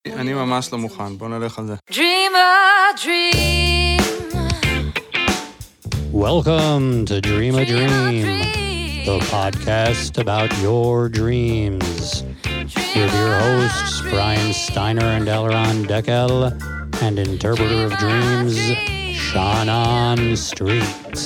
אני ממש לא מוכן, בוא נלך על זה. Dream a dream. Welcome to Dream a Dream, the podcast about your dreams. With your hosts, Brian Steiner and Elron Deckel, and interpreter of dreams, Shannon Street.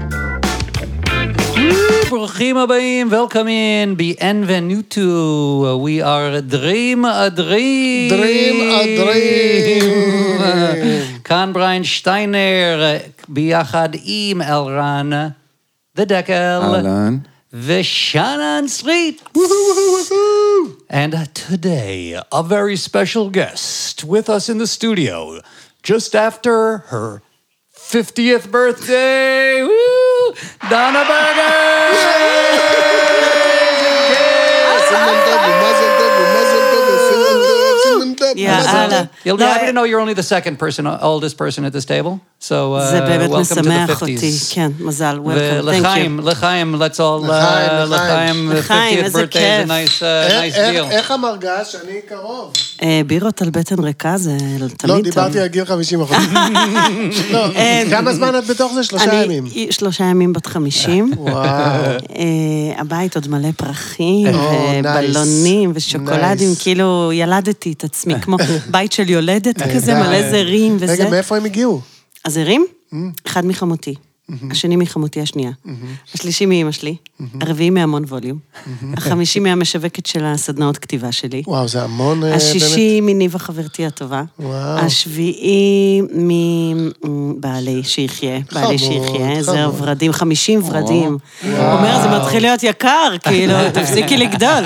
ברוכים הבאים, welcome in, bienvenuto. We are Dream a Dream. Dream a Dream. כאן בריין שטיינר, ביחד עם אלרן, The Deckel. אהלן. ושאנן סטריט. And today, a very special guest with us in the studio, just after her 50th birthday. Woo! Donna Berger! You'll be happy to know you're only the second person, oldest person at this table. So, welcome to the 50s. כן, מזל, welcome, thank you. לחיים, let's all, לחיים, 50th birthday is a nice deal. איך המרגש? אני קרוב. בירות על בטן ריקה זה תמיד טוב. לא, דיברתי על גיל 50%. לא, כמה זמן את בתוך זה? 3 ימים. 3 ימים בת 50. וואו. הבית עוד מלא פרחים, ובלונים, ושוקולדים, כאילו ילדתי את עצמי, כמו בית של יולדת כזה, מלא זרים וזה. רגע, מאיפה הם הגיעו? הזרים? אחד מחמותי. השני מחמותי השנייה. השלישי מאמא שלי. הרביעי מהמון ווליום. החמישי מהמשווקת של הסדנאות כתיבה שלי. וואו, זה המון באמת. השישי מניבה חברתי הטובה. וואו. השביעי מבעלי שיחיה. בעלי שיחיה. זה ורדים, 50 ורדים. הוא אומר, זה מתחיל להיות יקר, כאילו, תפסיקי לגדול.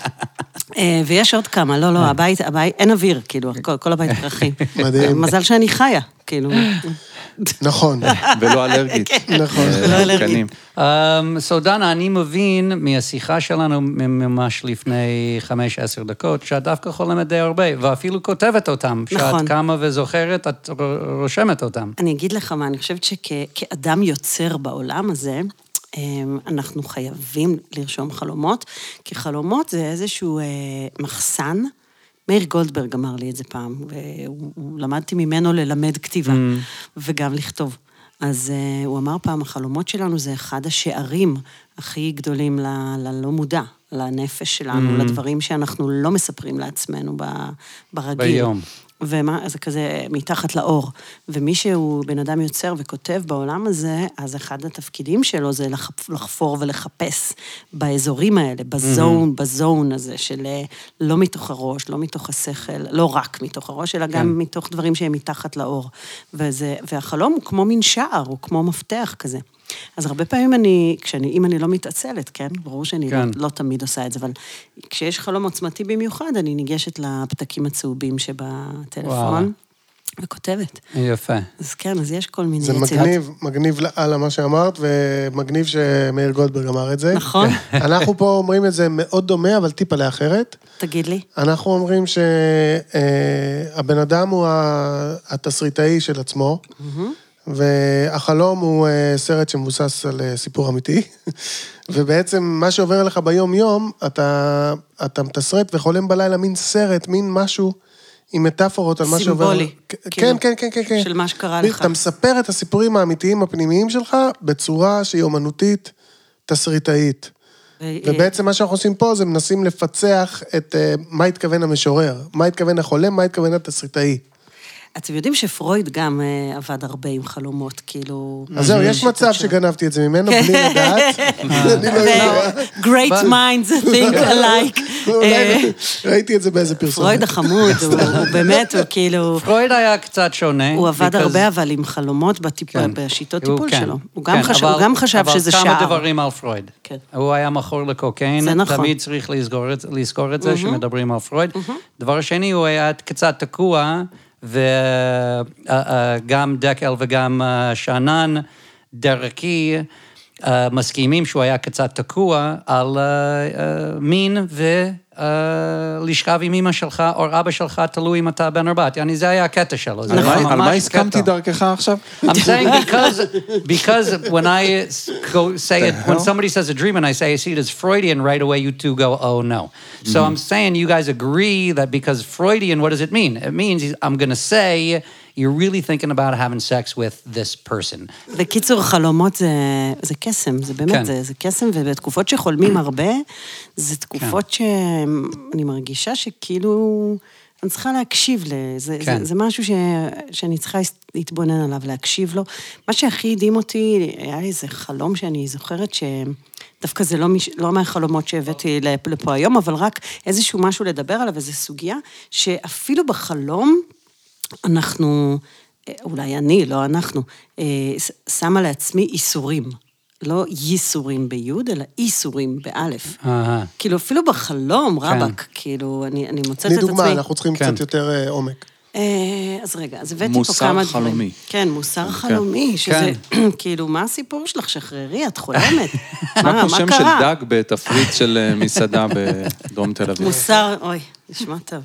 ויש עוד כמה, לא, הבית, אין אוויר, כאילו, כל הבית פרחים. מדהים. מזל שאני חיה, כאילו. נכון. ולא אלרגית. נכון. ולא אלרגית. So דנה, אני מבין מהשיחה שלנו ממש לפני 5-10 דקות, שאת דווקא חולמת די הרבה, ואפילו כותבת אותם, נכון. שאת קמה וזוכרת, את רושמת אותם. אני אגיד לך מה, אני חושבת שכאדם יוצר בעולם הזה, אנחנו חייבים לרשום חלומות, כי חלומות זה איזשהו מחסן. מאיר גולדברג אמר לי את זה פעם, ולמדתי ממנו ללמד כתיבה, וגם לכתוב. אז הוא אמר פעם, החלומות שלנו זה אחד השערים הכי גדולים ללא מודע, לנפש שלנו, לדברים שאנחנו לא מספרים לעצמנו ברגיל. ביום. זה כזה מתחת לאור. ומי שהוא בן אדם יוצר וכותב בעולם הזה, אז אחד התפקידים שלו זה לחפור ולחפש באזורים האלה, בזון הזה, של לא מתוך הראש, לא מתוך השכל, לא רק מתוך הראש, אלא גם מתוך דברים שהם מתחת לאור. והחלום הוא כמו מין שער, הוא כמו מפתח כזה. אז הרבה פעמים אם אני לא מתעצלת, כן? ברור שאני לא תמיד עושה את זה, אבל כשיש חלום עוצמתי במיוחד, אני ניגשת לפתקים הצהובים שבטלפון, וכותבת. יפה. אז כן, אז יש כל מיני זה מגניב על מה שאמרת, ומגניב שמאיר גולדברג אמר את זה. נכון. אנחנו פה אומרים את זה מאוד דומה, אבל טיפה לאחרת. תגיד לי. אנחנו אומרים שהבן אדם הוא התסריטאי של עצמו, והחלום הוא סרט שמבוסס על סיפור אמיתי, ובעצם מה שעובר לך ביום יום, אתה מתסרט וחולם בלילה מין סרט, מין משהו עם מטאפורות על מה שעובר. סימבולי. כן. של מה שקרה לך. אתה מספר את הסיפורים האמיתיים הפנימיים שלך, בצורה שהיא אומנותית תסריטאית. ובעצם מה שאנחנו עושים פה, זה מנסים לפצח את מה התכוון המשורר, מה התכוון החולם, מה התכוון התסריטאי. אתם יודעים שפרויד גם עבד הרבה עם חלומות, כאילו... אז זהו, יש מצב שגנבתי את זה ממנו, בלי לדעת. Great minds think alike. ראיתי את זה באיזה פרסומת. פרויד החמוד, הוא באמת, הוא כאילו... פרויד היה קצת שונה. הוא עבד הרבה, אבל עם חלומות בשיטות טיפול שלו. הוא גם חשב שזה שער. אבל כמה דברים על פרויד. הוא היה מכור לקוקיין. זה נכון. תמיד צריך לזכור את זה, שמדברים על פרויד. דבר שני, הוא היה קצת תקוע, וגם דקל וגם שאנן דרכי מסכימים שהוא היה קצת תקוע על מין לשכב עם אמא שלך או אבא שלך, תלוי אם אתה בן או בת. זה היה הקטע שלו. על מה הסכמתי דרכך עכשיו? I'm saying because when I go say it, when somebody says a dream and I say I see it as Freudian, right away you two go, oh no. So I'm saying you guys agree that because Freudian, what does it mean? It means I'm going to say you're really thinking about having sex with this person. בקיצור, חלומות זה קסם, זה באמת, זה קסם, ובתקופות שחולמים הרבה, זה תקופות שאני מרגישה שכאילו, אני צריכה להקשיב לזה, זה משהו שאני צריכה להתבונן עליו, להקשיב לו. מה שהכי הדהים אותי, היה לי איזה חלום שאני זוכרת דווקא זה לא מהחלומות שהבאתי לפה היום, אבל רק איזשהו משהו לדבר עליו, איזו סוגיה, שאפילו בחלום, אנחנו, אולי אני, לא אנחנו, שמה לעצמי איסורים. לא ייסורים ביוד, אלא איסורים באלף. כאילו, אפילו בחלום, רבק, כאילו, אני מוצאת את עצמי. לדוגמה, אנחנו צריכים קצת יותר עומק. אז רגע, אז הבאתי פה כמה דברים. מוסר חלומי. כן, מוסר חלומי, שזה, כאילו, מה הסיפור שלך? שחררי, את חולמת. מה כמו שם של דג בתפריט של מסעדה בדרום תל אביב? מוסר, אוי, נשמע טוב.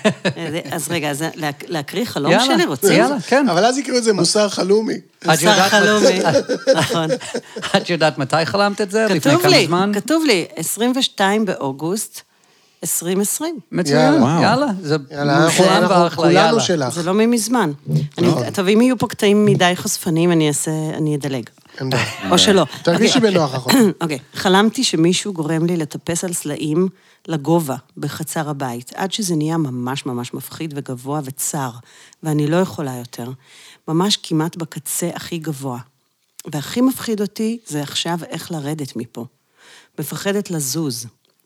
אז רגע, אז להקריא חלום שלי, רוצים? יאללה, כן. אבל אז יקראו את זה מוסר חלומי. מוסר חלומי, נכון. את יודעת מתי חלמת את זה? לפני כמה זמן? כתוב לי, 22 באוגוסט, 2020. מצוין, יאללה. זה מושלם ואחלה, יאללה. שלך. זה לא ממזמן. טוב, אם יהיו פה קטעים מדי חושפניים, אני אדלג. או שלא. תרגישי בנוח אחר. אוקיי, חלמתי שמישהו גורם לי לטפס על סלעים לגובה בחצר הבית, עד שזה נהיה ממש ממש מפחיד וגבוה וצר, ואני לא יכולה יותר. ממש כמעט בקצה הכי גבוה. והכי מפחיד אותי זה עכשיו איך לרדת מפה. מפחדת לזוז.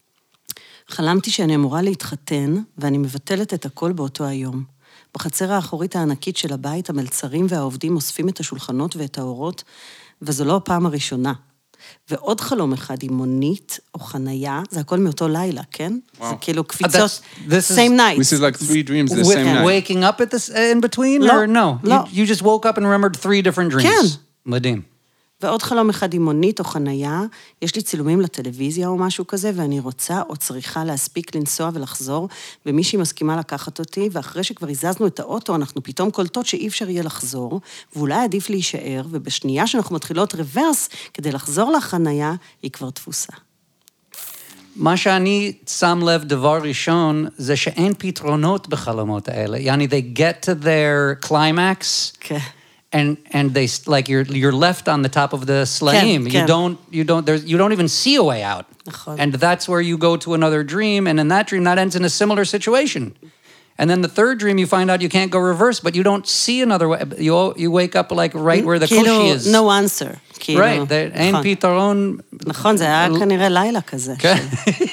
חלמתי שאני אמורה להתחתן, ואני מבטלת את הכל באותו היום. בחצר האחורית הענקית של הבית, המלצרים והעובדים אוספים את השולחנות ואת האורות, וזו לא הפעם הראשונה. ועוד חלום אחד עם מונית או חנייה, זה הכל מאותו לילה, כן? זה כאילו קפיצות, same night. This is like 3 dreams the same night. Waking up in between, or no? You just woke up and remembered 3 different dreams. כן. מדהים. ועוד חלום אחד עם מונית או חנייה, יש לי צילומים לטלוויזיה או משהו כזה, ואני רוצה או צריכה להספיק לנסוע ולחזור, ומישהי מסכימה לקחת אותי, ואחרי שכבר הזזנו את האוטו, אנחנו פתאום קולטות שאי אפשר יהיה לחזור, ואולי עדיף להישאר, ובשנייה שאנחנו מתחילות רוורס, כדי לחזור לחנייה, היא כבר תפוסה. מה שאני שם לב דבר ראשון, זה שאין פתרונות בחלומות האלה. יעני, they get to their climax, כן. And they like you're left on the top of the slaim. You don't even see a way out. And that's where you go to another dream, and in that dream that ends in a similar situation. And then the third dream you find out you can't go reverse, but you don't see another way. You wake up like right where the koshi is. No answer. Right, אין פתרון. נכון, זה היה כנראה לילה כזה. כן.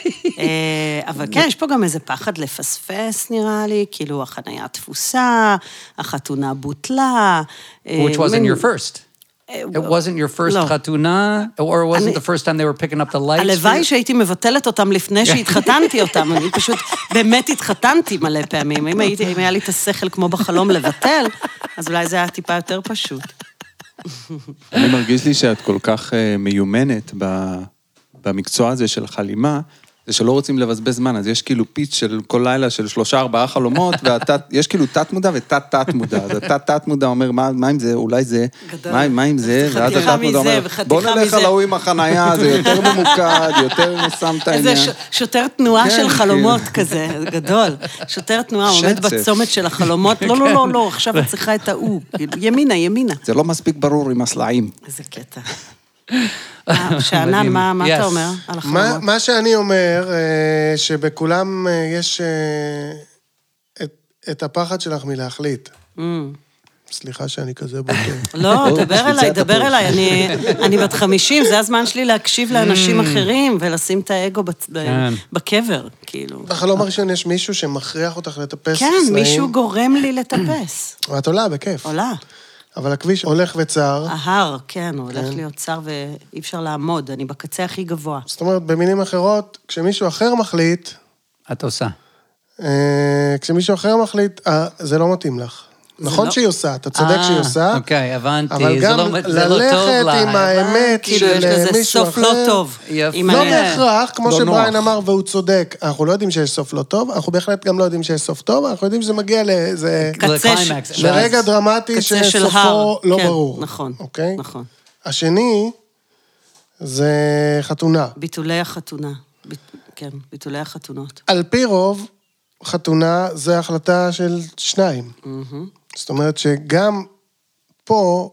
אבל כן, יש פה גם איזה פחד לפספס, נראה לי, כאילו החנייה תפוסה, החתונה בוטלה. Which wasn't your first. It wasn't your first חתונה, or was it the first time they were picking up the lights? הלוואי שהייתי מבטלת אותם לפני שהתחתנתי אותם, אני פשוט באמת התחתנתי מלא פעמים. אם היה לי את השכל כמו בחלום לבטל, אז אולי זה היה טיפה יותר פשוט. אני מרגיש לי שאת כל כך מיומנת במקצוע הזה של חלימה, זה שלא רוצים לבזבז זמן, אז יש כאילו פיץ של כל לילה של 3-4 חלומות, ויש כאילו תת מודע ותת מודע, אז התת מודע אומר, מה עם זה, אולי זה, מה עם זה, ואז התת מודע אומר, בוא נלך על ההוא עם החנייה, זה יותר ממוקד, יותר שם את העניין. איזה שוטר תנועה של חלומות כזה, גדול. שוטר תנועה עומד בצומת של החלומות, לא, עכשיו את צריכה את ההוא, ימינה. זה לא מספיק ברור עם הסלעים. איזה קטע. שענן, מה אתה אומר על החלומות? מה שאני אומר, שבכולם יש את הפחד שלך מלהחליט. סליחה שאני כזה בוטה. לא, דבר אליי, אני בת 50, זה הזמן שלי להקשיב לאנשים אחרים, ולשים את האגו בקבר, כאילו. בחלום הראשון יש מישהו שמכריח אותך לטפס כן, סלעים. מישהו גורם לי לטפס. ואת עולה, בכיף. עולה. אבל הכביש הולך וצר. ההר, כן, הוא הולך להיות צר ואי אפשר לעמוד, אני בקצה הכי גבוה. זאת אומרת, במילים אחרות, כשמישהו אחר מחליט... את עושה. כשמישהו אחר מחליט, זה לא מתאים לך. נכון שהיא עושה, אתה צודק שהיא עושה. אוקיי, הבנתי. אבל גם זה לא טוב ללכת לה. עם האמת כאילו, יש של לזה מישהו סוף לא אחר. טוב. יפה. לא בהכרח, כמו לא שבריין נוח. אמר, והוא צודק, אנחנו לא יודעים שיש סוף לא טוב, אנחנו בהחלט גם לא יודעים שיש סוף טוב, אנחנו יודעים שזה מגיע לאיזה... לקליימקס. לרגע דרמטי קצה של שסופו הר. לא כן, ברור. נכון, אוקיי? נכון. השני, זה חתונה. ביטולי החתונה. כן, ביטולי החתונות. על פי רוב, חתונה זה החלטה של שניים. זאת אומרת שגם פה,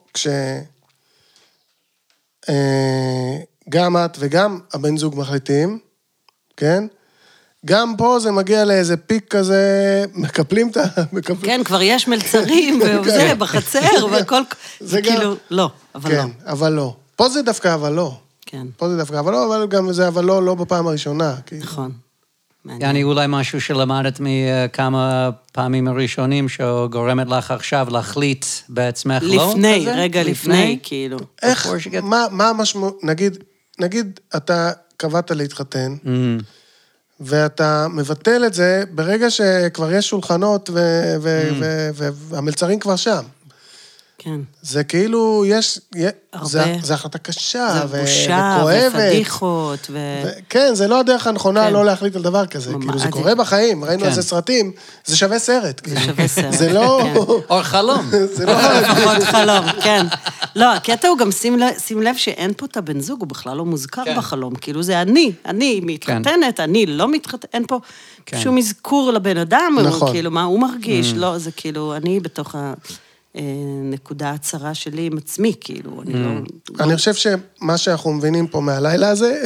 גם את וגם הבן זוג מחליטים, כן? גם פה זה מגיע לאיזה פיק כזה, מקפלים את ה... כן, כבר יש מלצרים, וזה, בחצר, והכל... זה גם- כאילו, לא, אבל לא. כן, אבל לא. פה זה דווקא אבל לא. כן, פה זה דווקא אבל לא, אבל גם זה אבל לא בפעם הראשונה. כאילו. נכון. מעניין. יעני, אולי משהו שלמדת מכמה פעמים הראשונים, שגורמת לך עכשיו להחליט בעצמך, לא? לפני, כזה? רגע לפני, כאילו. איך, Before she gets- מה המשמעות, נגיד אתה קבעת להתחתן, ואתה מבטל את זה ברגע שכבר יש שולחנות והמלצרים כבר שם. כן. זה כאילו, זה הרבה. החלטה קשה זה בושה, וכואבת. ופדיחות, כן, זה לא הדרך הנכונה כן. לא להחליט על דבר כזה. ממש. כאילו, זה קורה בחיים, ראינו על זה סרטים, זה שווה סרט. זה שווה סרט. זה לא... או חלום. זה לא... לפחות חלום, כן. לא, הקטע הוא גם שים לב שאין פה את הבן זוג, הוא בכלל לא מוזכר בחלום. כאילו זה אני מתחתנת, אני לא מתחתנת, אין פה שום אזכור לבן אדם, נכון. כאילו מה הוא מרגיש, לא, זה כאילו, אני בתוך הנקודה הצרה שלי עם עצמי, כאילו, אני לא... אני חושב שמה שאנחנו מבינים פה מהלילה הזה,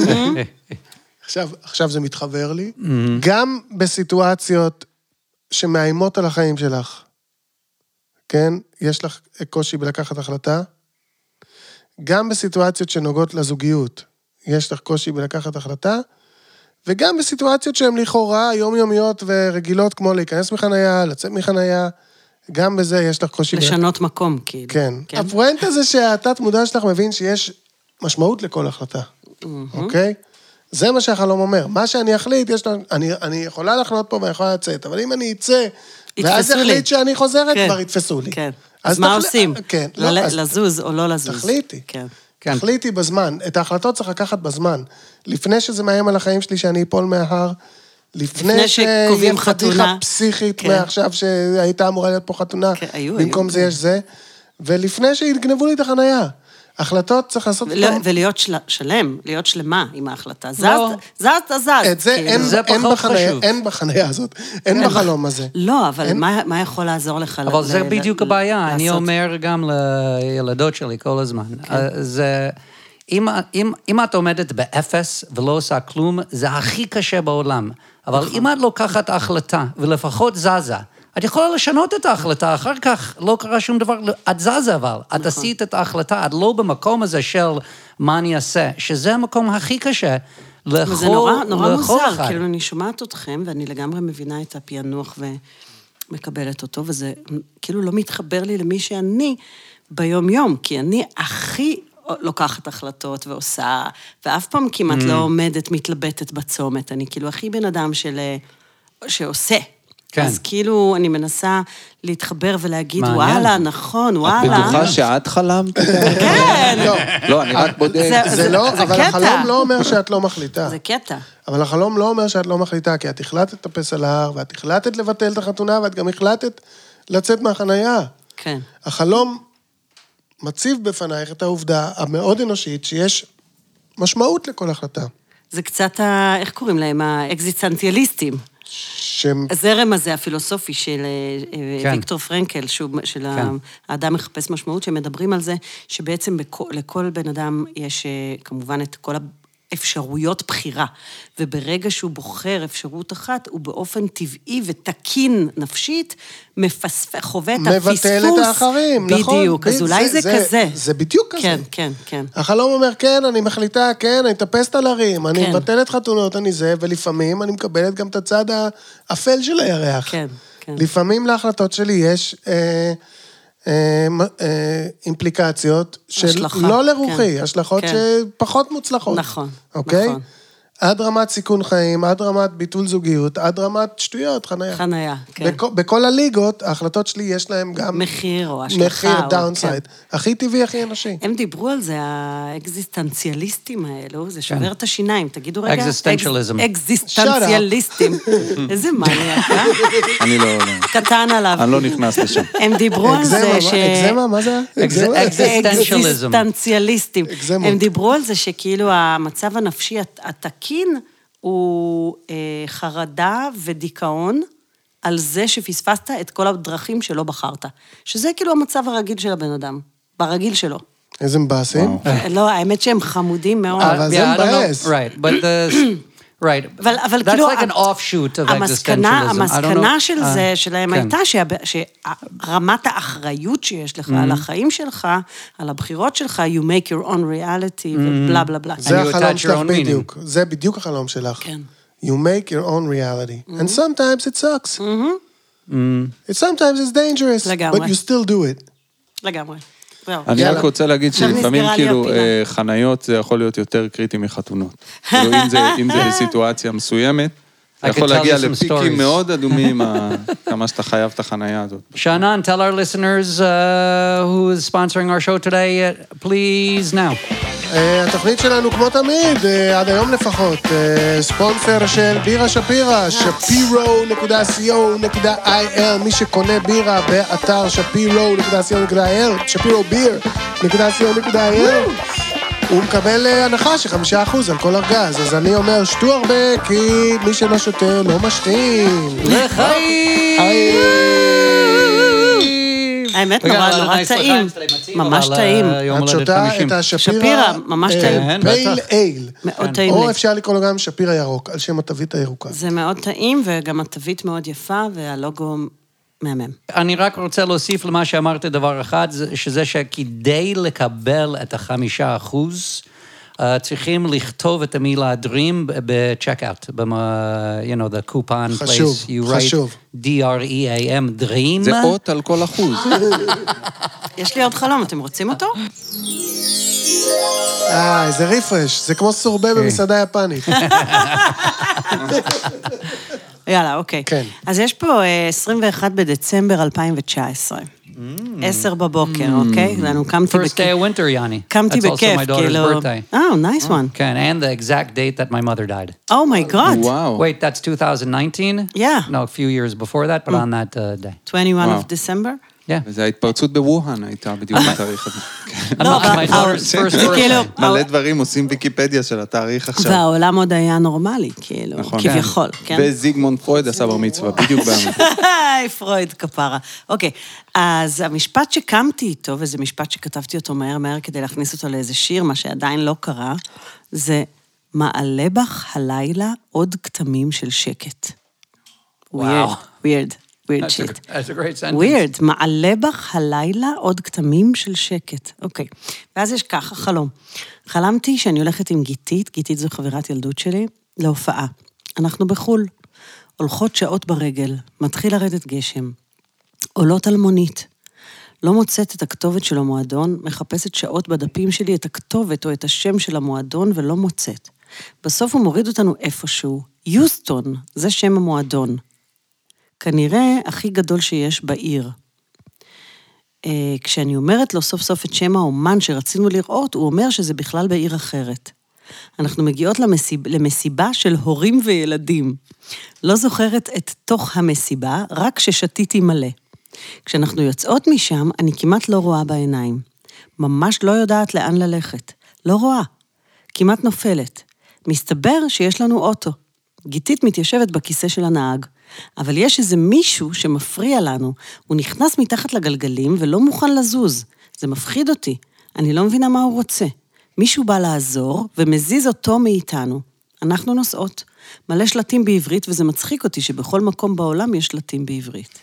עכשיו זה מתחבר לי, גם בסיטואציות שמאיימות על החיים שלך, כן? יש לך קושי בלקחת החלטה, גם בסיטואציות שנוגעות לזוגיות, יש לך קושי בלקחת החלטה, וגם בסיטואציות שהן לכאורה יומיומיות ורגילות, כמו להיכנס מחניה, לצאת מחניה, גם בזה יש לך קושי. לשנות מקום, כאילו. כן. הפואנטה זה שהתת מודע שלך מבין שיש משמעות לכל החלטה, אוקיי? זה מה שהחלום אומר. מה שאני אחליט, אני יכולה לחנות פה ואני יכולה לצאת, אבל אם אני אצא, ואז אחליט שאני חוזרת, כבר יתפסו לי. כן. אז מה עושים? כן. לזוז או לא לזוז? תחליטי. כן. תחליטי בזמן. את ההחלטות צריך לקחת בזמן. לפני שזה מאיים על החיים שלי שאני אפול מההר, לפני שקובעים חתונה. פדיחה פסיכית מעכשיו שהייתה אמורה להיות פה חתונה, במקום זה יש זה, ולפני שיגנבו לי את החנייה. החלטות צריך לעשות... ולהיות שלם, להיות שלמה עם ההחלטה. זז. את זה אין בחנייה הזאת, אין בחלום הזה. לא, אבל מה יכול לעזור לך? אבל זה בדיוק הבעיה, אני אומר גם לילדות שלי כל הזמן. זה... אם את עומדת באפס ולא עושה כלום, זה הכי קשה בעולם. אבל אם את לוקחת החלטה ולפחות זזה, את יכולה לשנות את ההחלטה, אחר כך לא קרה שום דבר, את זזה אבל, את עשית את ההחלטה, את לא במקום הזה של מה אני אעשה, שזה המקום הכי קשה לכל אחד. זה נורא מוזר, כאילו אני שומעת אתכם, ואני לגמרי מבינה את הפענוח ומקבלת אותו, וזה כאילו לא מתחבר לי למי שאני ביום-יום, כי אני הכי לוקחת החלטות ועושה, ואף פעם כמעט לא עומדת, מתלבטת בצומת, אני כאילו הכי בן אדם שעושה. כן. אז כאילו אני מנסה להתחבר ולהגיד, וואלה, נכון, וואלה. את בטוחה שאת חלמת? כן. לא, אני רק בודק. זה לא, אבל החלום לא אומר שאת לא מחליטה. זה קטע. אבל החלום לא אומר שאת לא מחליטה, כי את החלטת לטפס על ההר, ואת החלטת לבטל את החתונה, ואת גם החלטת לצאת מהחנייה. כן. החלום מציב בפנייך את העובדה המאוד אנושית, שיש משמעות לכל החלטה. זה קצת, איך קוראים להם? האקזיסטנציאליסטים. הזרם הזה, הפילוסופי של ויקטור פרנקל, של האדם מחפש משמעות, שמדברים על זה, שבעצם לכל בן אדם יש כמובן את כל אפשרויות בחירה, וברגע שהוא בוחר אפשרות אחת, הוא באופן טבעי ותקין נפשית, חווה את הפספוס. מבטל את האחרים, נכון. בדיוק, אז אולי זה כזה. זה בדיוק כזה. כן, כן, כן. החלום אומר, כן, אני מחליטה, כן, אני טפסת על הרים, אני מבטלת חתונות, אני זה, ולפעמים אני מקבלת גם את הצד האפל של הירח. כן, כן. לפעמים להחלטות שלי יש אימפליקציות של לא לרוחי, השלכות שפחות מוצלחות. נכון, אוקיי? עד רמת סיכון חיים, עד רמת ביטול זוגיות, עד רמת שטויות, חניה. חניה, כן. בכל הליגות, ההחלטות שלי יש להם גם... מחיר או השלכה. מחיר, דאונסייד. הכי טבעי, הכי אנושי. הם דיברו על זה, האקזיסטנציאליסטים האלו, זה שובר את השיניים, תגידו רגע. אקזיסטנציאליזם. אקזיסטנציאליסטים. איזה מניאק, אני לא... קטן עליו. אני לא נכנס לשם. הם דיברו על זה ש... אקזמה, מה זה? אקזיסטנציאליסטים. הם דיברו על זה שכאילו המצב הנפשי התקין הוא חרדה ודיכאון על זה שפספסת את כל הדרכים שלא בחרת. שזה כאילו המצב הרגיל של הבן אדם, ברגיל שלו. איזה מבאסים. לא, האמת שהם חמודים מאוד. אבל זה מבאס. Right, but right. אבל That's כאילו... like an offshoot of existentialism. המסקנה של זה, שלהם הייתה שרמת האחריות שיש לך על החיים שלך, על הבחירות שלך, you make your own reality, ובלה בלה בלה. זה החלום שלך בדיוק. זה בדיוק החלום שלך. כן. You make your own reality. And sometimes it sucks. And sometimes it's dangerous. לגמרי. But you still do it. לגמרי. אני רק רוצה להגיד שלפעמים נסגרה לי כאילו הפינה. חניות זה יכול להיות יותר קריטי מחתונות. כאילו אם זה סיטואציה מסוימת, I יכול could tell להגיע you some לפיקים stories. מאוד אדומים, כמה שאתה חייב את החנייה הזאת. Shannon, tell our listeners who is sponsoring our show today, please now. התוכנית שלנו כמו תמיד, עד היום לפחות, ספונסר של בירה שפירא, shapiro.co.il, מי שקונה בירה באתר shapiro.co.il, shapirobeer.co.il, הוא מקבל הנחה של 5% על כל ארגז, אז אני אומר, שתו הרבה, כי מי שלא שותה לא משתין. לחיים! האמת נורא טעים, ממש טעים. את שותה את שפירא, ממש טעים. פייל אייל. מאוד טעים או לי. אפשר לקרוא לו גם שפירא ירוק, על שם התווית הירוקה. זה מאוד טעים, וגם התווית מאוד יפה, והלוגו מהמם. אני רק רוצה להוסיף למה שאמרת דבר אחד, שזה שכדי לקבל את 5%, צריכים לכתוב את המילה Dream ב-checkout, you know, the coupon חשוב, place, you write חשוב. D-R-E-A-M, Dream. זה אות על כל אחוז. יש לי עוד חלום, אתם רוצים אותו? איזה ריפרש, זה כמו סורבה במסעדה יפנית. יאללה, אוקיי. כן. אז יש פה 21 בדצמבר 2019. 10 בבוקר, אוקיי? ואנו קמתי First day of winter, Yanni. קמתי That's also בכיף, my daughter's כאילו... birthday. nice one. כן, and the exact date that my mother died. Oh my God. וואו. Wait, that's 2019? Yeah. No, a few years before that, but on that day. 21 of December? Yeah. וזה ההתפרצות בווהאן הייתה בדיוק בתאריך הזה. לא, My daughter's first זה כאילו... birthday. מלא דברים עושים ויקיפדיה של התאריך עכשיו. והעולם עוד היה נורמלי, כאילו, נכון. כביכול, כן? וזיגמונד פרויד עשה בר מצווה, בדיוק בימים. היי, פרויד, כפרה. אוקיי, אז המשפט שקמתי איתו, וזה משפט שכתבתי אותו מהר כדי להכניס אותו לאיזה שיר, מה שעדיין לא קרה, זה מעלה בך הלילה עוד כתמים של שקט. וואו. weird shit. That's a great sentence. weird, מעלה בך הלילה עוד כתמים של שקט. אוקיי. ואז יש ככה, חלום. חלמתי שאני הולכת עם גיתית זו חברת ילדות שלי, להופעה. אנחנו בחול. הולכות שעות ברגל, מתחיל לרדת גשם. עולות על מונית. לא מוצאת את הכתובת של המועדון, מחפשת שעות בדפים שלי את הכתובת או את השם של המועדון ולא מוצאת. בסוף הוא מוריד אותנו איפשהו. יוסטון, זה שם המועדון. כנראה הכי גדול שיש בעיר. כשאני אומרת לו סוף סוף את שם האומן שרצינו לראות, הוא אומר שזה בכלל בעיר אחרת. אנחנו מגיעות למסיבה של הורים וילדים. לא זוכרת את תוך המסיבה, רק ששתיתי מלא. כשאנחנו יוצאות משם, אני כמעט לא רואה בעיניים. ממש לא יודעת לאן ללכת. לא רואה. כמעט נופלת. מסתבר שיש לנו אוטו. גיתית מתיישבת בכיסא של הנהג. אבל יש איזה מישהו שמפריע לנו. הוא נכנס מתחת לגלגלים ולא מוכן לזוז. זה מפחיד אותי. אני לא מבינה מה הוא רוצה. מישהו בא לעזור ומזיז אותו מאיתנו. אנחנו נוסעות. מלא שלטים בעברית, וזה מצחיק אותי שבכל מקום בעולם יש שלטים בעברית.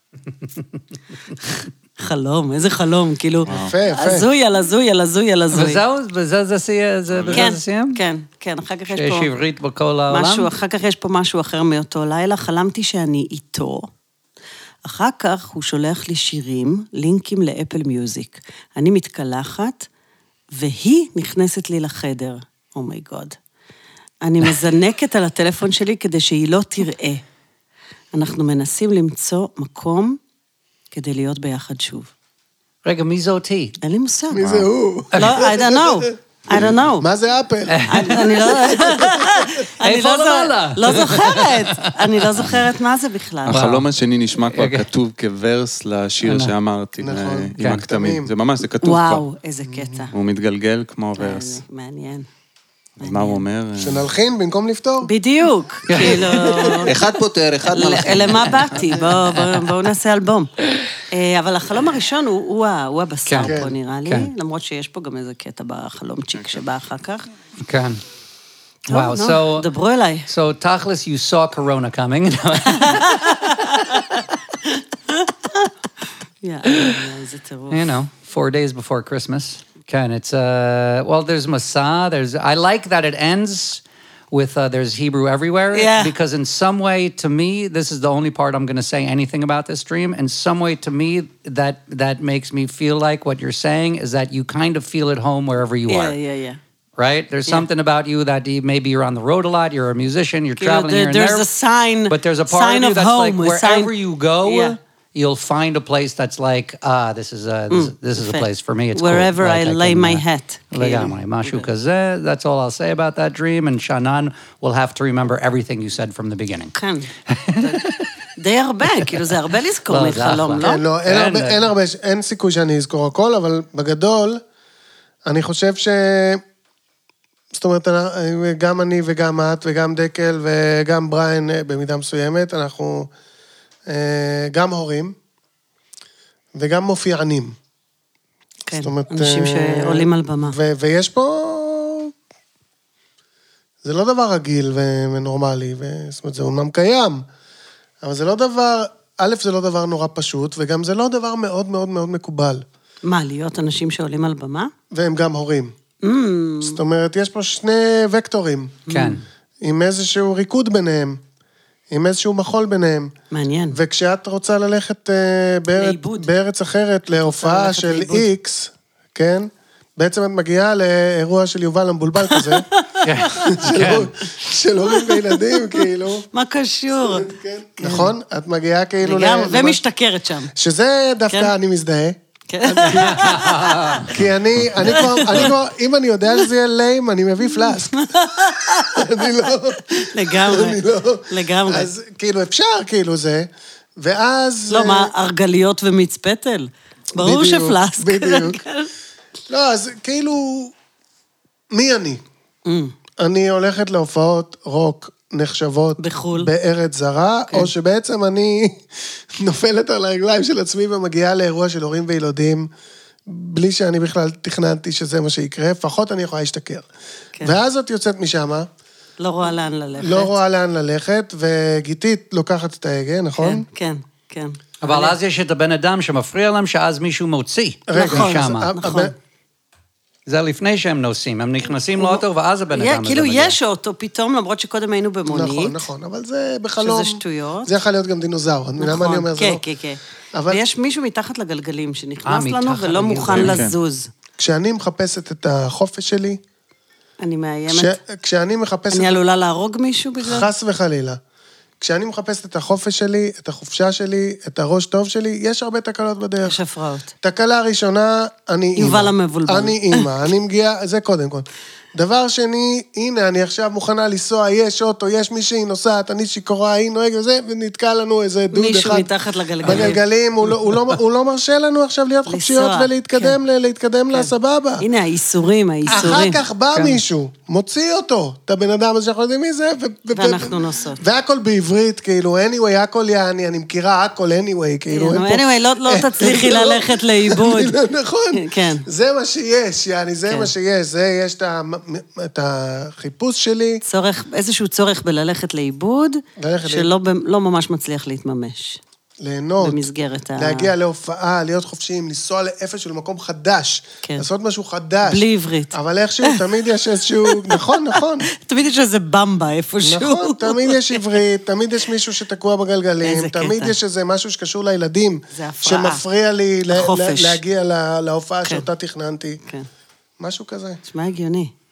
חלום, איזה חלום, כאילו, הזוי על הזוי על הזוי על הזוי. וזהו, בזה זה סיים? כן, אחר כך יש שיש פה... עברית בכל העולם? אחר כך יש פה משהו אחר מאותו לילה, חלמתי שאני איתו, אחר כך הוא שולח לי שירים, לינקים לאפל מיוזיק. אני מתקלחת, והיא נכנסת לי לחדר. אומייגוד. אני מזנקת על הטלפון שלי כדי שהיא לא תראה. אנחנו מנסים למצוא מקום כדי להיות ביחד שוב. רגע, מי זה אותי? אין לי מושג. מי זה הוא? לא, I don't know. מה זה אפל? אני איפה למעלה? לא זוכרת. אני לא זוכרת מה זה בכלל. החלום השני נשמע כבר כתוב כוורס לשיר שאמרתי, עם הכתמים. זה ממש, זה כתוב כבר. וואו, איזה קטע. הוא מתגלגל כמו ורס. מעניין. אז מה הוא אומר? שנלחין במקום לפתור? בדיוק, כאילו... אחד פותר, אחד מלחין. למה באתי? בואו נעשה אלבום. אבל החלום הראשון הוא הבשר פה, נראה לי, למרות שיש פה גם איזה קטע בחלומצ'יק שבא אחר כך. כן. Wow, so... דברו אליי. So, תכלס, you saw Corona coming. איזה טירוף. You know, 4 days before Christmas. Ken, it's, well, there's Masa, I like that it ends with, there's Hebrew everywhere, because in some way, to me, this is the only part I'm going to say anything about this dream, in some way, to me, that makes me feel like what you're saying is that you kind of feel at home wherever you are. Yeah. Right? There's something about you that maybe you're on the road a lot, you're a musician, you're traveling here and there. There's a sign, but there's a part of you that's home, like, wherever you go, you'll find a place that's like, this is a place for me. It's wherever cool. I lay my hat. לגמרי, משהו כזה, that's all I'll say about that dream, and Shannon will have to remember everything you said from the beginning. כן. די הרבה, כאילו זה הרבה לזכור מחלום, לא? כן, לא, אין הרבה, אין סיכוי שאני אזכור הכל, אבל בגדול, אני חושב זאת אומרת, גם אני וגם את וגם דקל וגם בריין במידה מסוימת, אנחנו גם הורים וגם מופיענים. כן, אנשים שעולים על במה. ויש פה... זה לא דבר רגיל ונורמלי, זאת אומרת, זה אומנם קיים, אבל זה לא דבר... א', זה לא דבר נורא פשוט, וגם זה לא דבר מאוד מאוד מאוד מקובל. מה, להיות אנשים שעולים על במה? והם גם הורים. זאת אומרת, יש פה שני וקטורים. כן. עם איזשהו ריקוד ביניהם, עם איזשהו מחול ביניהם. מעניין. וכשאת רוצה ללכת בארץ אחרת, להופעה של איקס, כן? בעצם את מגיעה לאירוע של יובל המבולבל כזה, של הורים וילדים, כאילו. מה קשור? נכון? את מגיעה כאילו... ומשתכרת שם. שזה דווקא אני מזדהה. כי אני כבר, אם אני יודע שזה יהיה ליים, אני מביא פלאסק. אני לא... לגמרי. אז כאילו אפשר, כאילו זה, ואז... לא, מה, ארגליות ומצפתל? ברור שפלאסק. בדיוק. לא, אז כאילו, מי אני? אני הולכת להופעות רוק נחשבות בחול. בארץ זרה, או שבעצם אני נופלת על הרגליים של עצמי ומגיעה לאירוע של הורים וילדים, בלי שאני בכלל תכננתי שזה מה שיקרה, לפחות אני יכולה להשתכר. ואז את יוצאת משם. לא רואה לאן ללכת. לא רואה לאן ללכת, וגיתית לוקחת את ההגה, נכון? כן. אבל אז יש את הבן אדם שמפריע להם, שאז מישהו מוציא. נכון. זה לפני שהם נוסעים, הם נכנסים לאוטו, ואז הבן אדם הזה מגיע. כאילו יש אוטו פתאום, למרות שקודם היינו במונית. נכון, אבל זה בחלום. שזה שטויות. זה יכול להיות גם דינוזאור. למה אני אומר זה לא? כן. ויש מישהו מתחת לגלגלים שנכנס לנו ולא מוכן לזוז. כשאני מחפשת את החופש שלי... אני מאיימת. כשאני מחפשת... אני עלולה להרוג מישהו בגלל? חס וחלילה. כשאני מחפשת את החופש שלי, את החופשה שלי, את הראש טוב שלי, יש הרבה תקלות בדרך. יש הפרעות. תקלה ראשונה, אני אימא. יובל המבולבל. אני אימא, אני מגיעה, זה קודם כל. דבר שני, הנה, אני עכשיו מוכנה לנסוע, יש אוטו, יש מישהי נוסעת, אני שיכורה, היא נוהגת וזה, ונתקע לנו איזה דוד אחד. מישהו מתחת לגלגלים. בגלגלים, הוא לא מרשה לנו עכשיו להיות חופשיות ולהתקדם לסבבה. הנה, האיסורים. אחר כך בא מישהו, מוציא אותו, את הבן אדם הזה שאנחנו יודעים מי זה, ואנחנו נוסעות. והכל בעברית, כאילו, anyway, הכל יעני, אני מכירה הכל anyway, כאילו, anyway, לא תצליחי ללכת לאיבוד. נכון. זה מה שיש, יעני, זה מה שיש, זה יש את החיפוש שלי. איזשהו צורך בללכת לאיבוד, שלא ממש מצליח להתממש. ליהנות, במסגרת להגיע להופעה, להיות חופשיים, לנסוע לאיפשהו למקום חדש, לעשות משהו חדש. בלי עברית. אבל איכשהו, תמיד יש איזשהו, נכון. תמיד יש איזה במבה איפשהו. נכון, תמיד יש עברית, תמיד יש מישהו שתקוע בגלגלים, תמיד יש איזה משהו שקשור לילדים, שמפריע לי להגיע להופעה שאותה תכננתי. משהו כזה. תשמע הגיוני.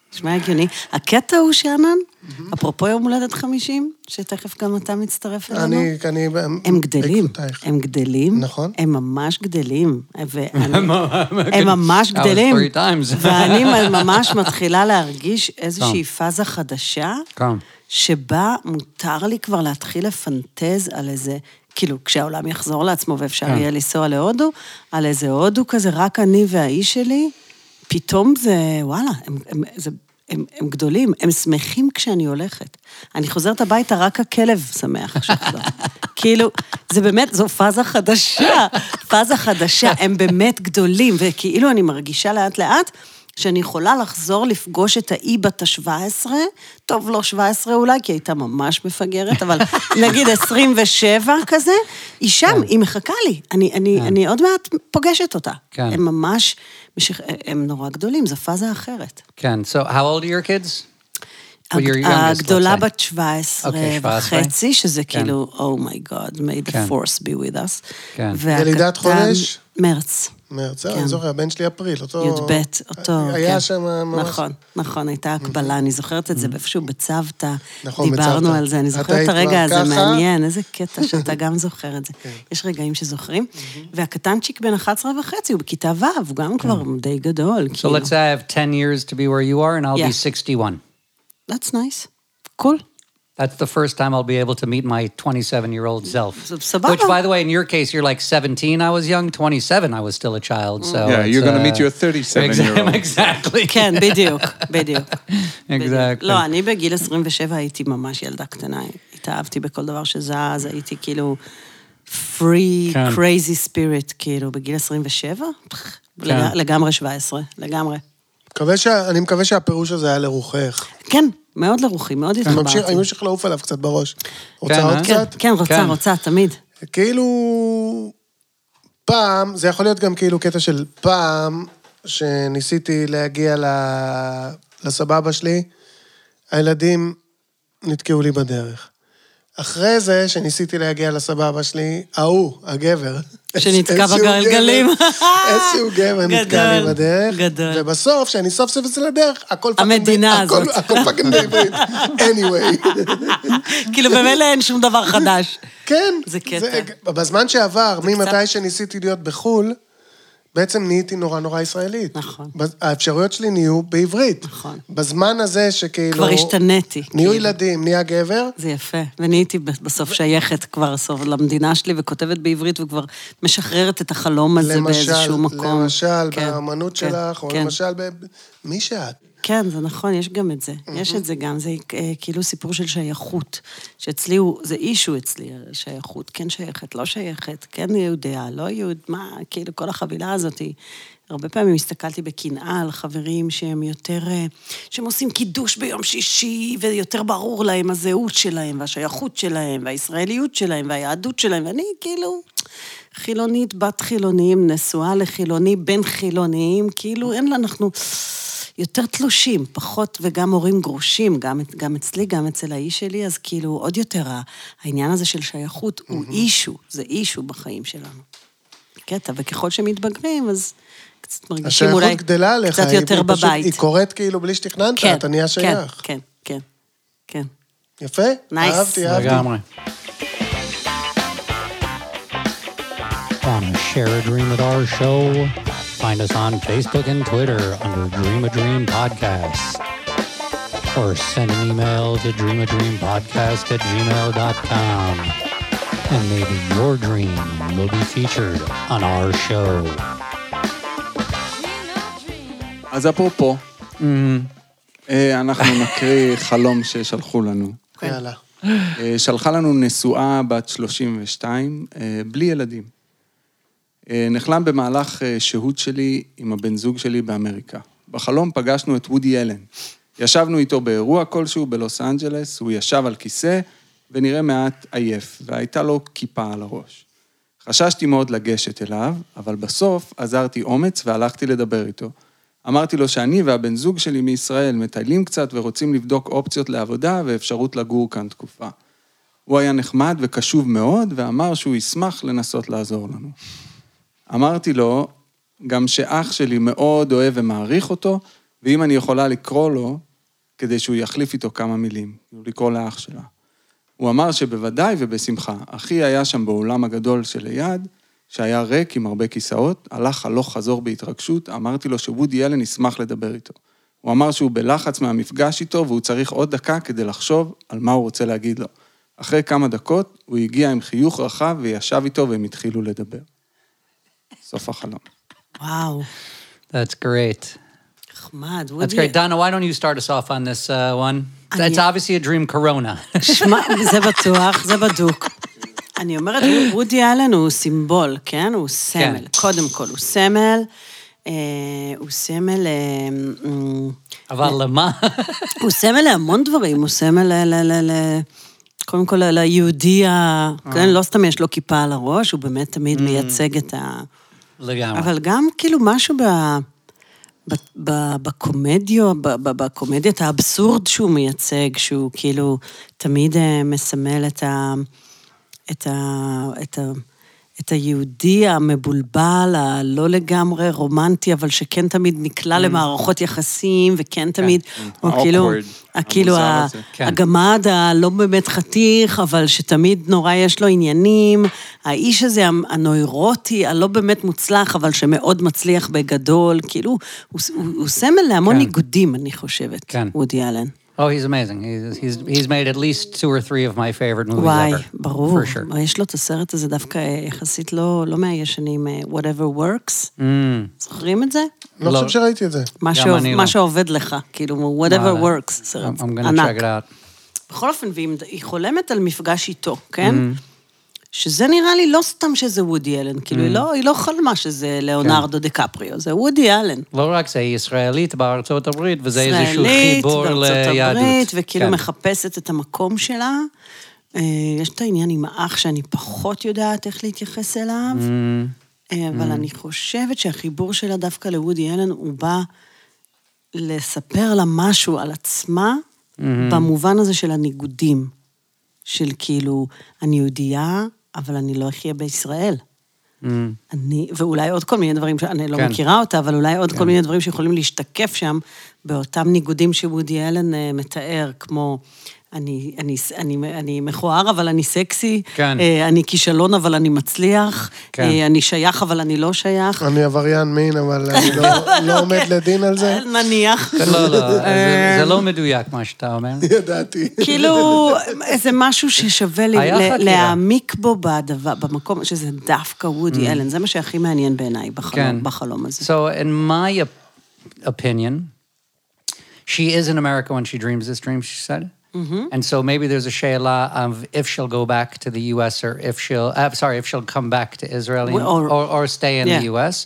נשמע הגיוני. הקטע הוא שאנן, אפרופו יום הולדת 50, שתכף גם אתה מצטרף אלינו. הם גדלים, הם גדלים, נכון. הם ממש גדלים, הם ממש גדלים, ואני ממש מתחילה להרגיש איזושהי פאזה חדשה, שבה מותר לי כבר להתחיל לפנטז על איזה, כאילו, כשהעולם יחזור לעצמו ואפשר יהיה לנסוע להודו, על איזה הודו כזה, רק אני והאיש שלי, פתאום זה, וואלה, הם גדולים, הם שמחים כשאני הולכת. אני חוזרת הביתה, רק הכלב שמח שחזר. כאילו, זה באמת, זו פאזה חדשה, הם באמת גדולים, וכאילו אני מרגישה לאט לאט, שאני יכולה לחזור לפגוש את האי בת ה-17, טוב, לא 17 אולי, כי הייתה ממש מפגרת, אבל נגיד 27 כזה, היא שם, היא מחכה לי. אני עוד מעט פוגשת אותה. הם ממש, הם נורא גדולים, זו פאזה אחרת. כן, so how old are your kids? הגדולה בת 17 וחצי, שזה כאילו, oh my God, may the force be with us. ילידת חודש? מרץ. מרץ, אני זוכר, הבן שלי אפריל, אותו... י"ב, אותו, היה שם ממש... נכון, הייתה הקבלה, אני זוכרת את זה, ואיפשהו בצוותא, דיברנו על זה, אני זוכרת את הרגע הזה, מעניין, איזה קטע שאתה גם זוכר את זה. יש רגעים שזוכרים, והקטנצ'יק בן 11 וחצי, הוא בכיתה ו', הוא גם כבר די גדול. So let's say I have 10 years to be where you are, and I'll be 61. That's nice. Cool. That's the first time I'll be able to meet my 27-year-old self. סבבה. Which, by the way, in your case, you're like 17, I was young, 27, I was still a child, so... Yeah, you're going to meet your 37-year-old. Exactly. כן, בדיוק. Exactly. לא, אני בגיל 27 הייתי ממש ילדה קטנה, התאהבתי בכל דבר שזז, הייתי כאילו free, crazy spirit, כאילו, בגיל 27, לגמרי 17, לגמרי. אני מקווה שהפירוש הזה היה לרוחך. כן, מאוד לרוחי, מאוד התחברתי. אני ממשיך לעוף עליו קצת בראש. רוצה עוד קצת? כן, רוצה, תמיד. כאילו, פעם, זה יכול להיות גם כאילו קטע של פעם, שניסיתי להגיע לסבבה שלי, הילדים נתקעו לי בדרך. אחרי זה, שניסיתי להגיע לסבבה שלי, הגבר. שנתקע בגלגלים. איזשהו גבר נתקע לי בדרך. גדול. ובסוף, שאני סוף סוף אצל הדרך, הכל המדינה הזאת. הכל פאקינג בעברית. anyway. כאילו במילא אין שום דבר חדש. כן. זה קטע. בזמן שעבר, ממתי שניסיתי להיות בחול, בעצם נהייתי נורא ישראלית. נכון. האפשרויות שלי נהיו בעברית. נכון. בזמן הזה שכאילו... כבר השתניתי. נהיו ילדים, נהיה גבר. זה יפה. ונהייתי בסוף שייכת כבר סוף למדינה שלי, וכותבת בעברית, וכבר משחררת את החלום הזה באיזשהו מקום. למשל, באמנות שלך, או למשל מי שאת. כן, זה נכון, יש גם את זה. יש את זה גם, זה כאילו סיפור של שייכות. שאצלי זה אישו אצלי, שייכות. כן שייכת, לא שייכת, כן יהודיה, לא יהוד, מה, כאילו כל החבילה הזאת. הרבה פעמים הסתכלתי בקנאה על חברים שהם יותר, שהם עושים קידוש ביום שישי, ויותר ברור להם הזהות שלהם, והשייכות שלהם, והישראליות שלהם, והיהדות שלהם, ואני כאילו... חילונית, בת חילונים, נשואה לחילוני, בן חילוניים, כאילו אין אנחנו יותר תלושים, פחות וגם הורים גרושים, גם אצלי, גם אצל האיש שלי, אז כאילו עוד יותר העניין הזה של שייכות הוא אישו, זה אישו בחיים שלנו. קטע, וככל שמתבגרים, אז קצת מרגישים אולי קצת יותר בבית. היא קוראת כאילו בלי שתכננת, אתה נהיה שייך. כן. יפה? אהבתי. לגמרי. Want to share a dream with our show? Find us on Facebook and Twitter under Dream a Dream Podcast. Or send an email to dreamadreampodcast@gmail.com. And maybe your dream will be featured on our show. אז אפרופו, אנחנו נקריא חלום ששלחו לנו. יאללה. שלחה לנו נשואה בת 32, בלי ילדים. נחלם במהלך שהות שלי עם הבן זוג שלי באמריקה. בחלום פגשנו את וודי אלן. ישבנו איתו באירוע כלשהו בלוס אנג'לס, הוא ישב על כיסא ונראה מעט עייף, והייתה לו כיפה על הראש. חששתי מאוד לגשת אליו, אבל בסוף עזרתי אומץ והלכתי לדבר איתו. אמרתי לו שאני והבן זוג שלי מישראל מטיילים קצת ורוצים לבדוק אופציות לעבודה ואפשרות לגור כאן תקופה. הוא היה נחמד וקשוב מאוד ואמר שהוא ישמח לנסות לעזור לנו. אמרתי לו גם שאח שלי מאוד אוהב ומעריך אותו, ואם אני יכולה לקרוא לו, כדי שהוא יחליף איתו כמה מילים, לקרוא לאח שלה. הוא אמר שבוודאי ובשמחה, אחי היה שם באולם הגדול שליד, שהיה ריק עם הרבה כיסאות, הלך הלוך חזור בהתרגשות, אמרתי לו שוודי אלן ישמח לדבר איתו. הוא אמר שהוא בלחץ מהמפגש איתו, והוא צריך עוד דקה כדי לחשוב על מה הוא רוצה להגיד לו. אחרי כמה דקות, הוא הגיע עם חיוך רחב וישב איתו והם התחילו לדבר. סוף החלום. וואו. That's great. נחמד. That's great. Donna, why don't you start us off on this one? It's obviously a dream corona. שמע, זה בטוח, זה בדוק. אני אומרת, וודי אלן הוא סימבול, כן? הוא סמל. קודם כל, הוא סמל. הוא סמל... אבל למה? הוא סמל להמון דברים. הוא סמל קודם כל ליהודי, לא סתם יש לו כיפה על הראש, הוא באמת תמיד מייצג את ה... לגמרי. אבל גם כאילו משהו בקומדיית האבסורד שהוא מייצג, שהוא כאילו תמיד מסמל את היהודי המבולבל, הלא לגמרי רומנטי, אבל שכן תמיד נקלע למערכות יחסים, וכן תמיד, או כאילו הגמד הלא באמת חתיך, אבל שתמיד נורא יש לו עניינים, האיש הזה הנוירוטי, הלא באמת מוצלח, אבל שמאוד מצליח בגדול, כאילו, הוא סמל להמון ניגודים, אני חושבת, וודי אלן. Oh, he's amazing. He's made at least 2 or 3 of my favorite movies וואי, ever. ברור. For sure. יש לו את הסרט הזה דווקא יחסית לא מהישנים, Whatever Works. זוכרים את זה? לא חושב שראיתי את זה. מה שעובד לך, כאילו, Whatever Works. סרט I'm going to ענק. check it out. בכל אופן, והיא חולמת על מפגש איתו, כן? שזה נראה לי לא סתם שזה וודי אלן, כאילו היא לא חלמה שזה ליאונרדו דקפריו, זה וודי אלן. לא רק זה, היא ישראלית בארצות הברית, וזה איזשהו חיבור ליהדות. ישראלית בארצות הברית, וכאילו מחפשת את המקום שלה. יש את העניין עם האח שאני פחות יודעת איך להתייחס אליו, אבל אני חושבת שהחיבור שלה דווקא לוודי אלן, הוא בא לספר לה משהו על עצמה, במובן הזה של הניגודים, של כאילו, אני יהודייה, אבל אני לא אחיה בישראל. ואולי עוד כל מיני דברים, שאני לא מכירה אותה, אבל אולי עוד כל מיני דברים שיכולים להשתקף שם, באותם ניגודים שוודי אלן מתאר, כמו, אני מכוער, אבל אני סקסי, אני כישלון, אבל אני מצליח, אני שייך, אבל אני לא שייך. אני עבריין מין, אבל אני לא עומד לדין על זה. נניח. לא, זה לא מדויק מה שאתה אומר. ידעתי. כאילו, זה משהו ששווה להעמיק בו במקום, שזה דווקא וודי אלן, זה מה שהכי מעניין בעיניי בחלום הזה. So, in my opinion, she is in America when she dreams this dream, she said. And so maybe there's a she'ela of if she'll go back to the U.S. or if she'll come back to Israel or stay in the U.S.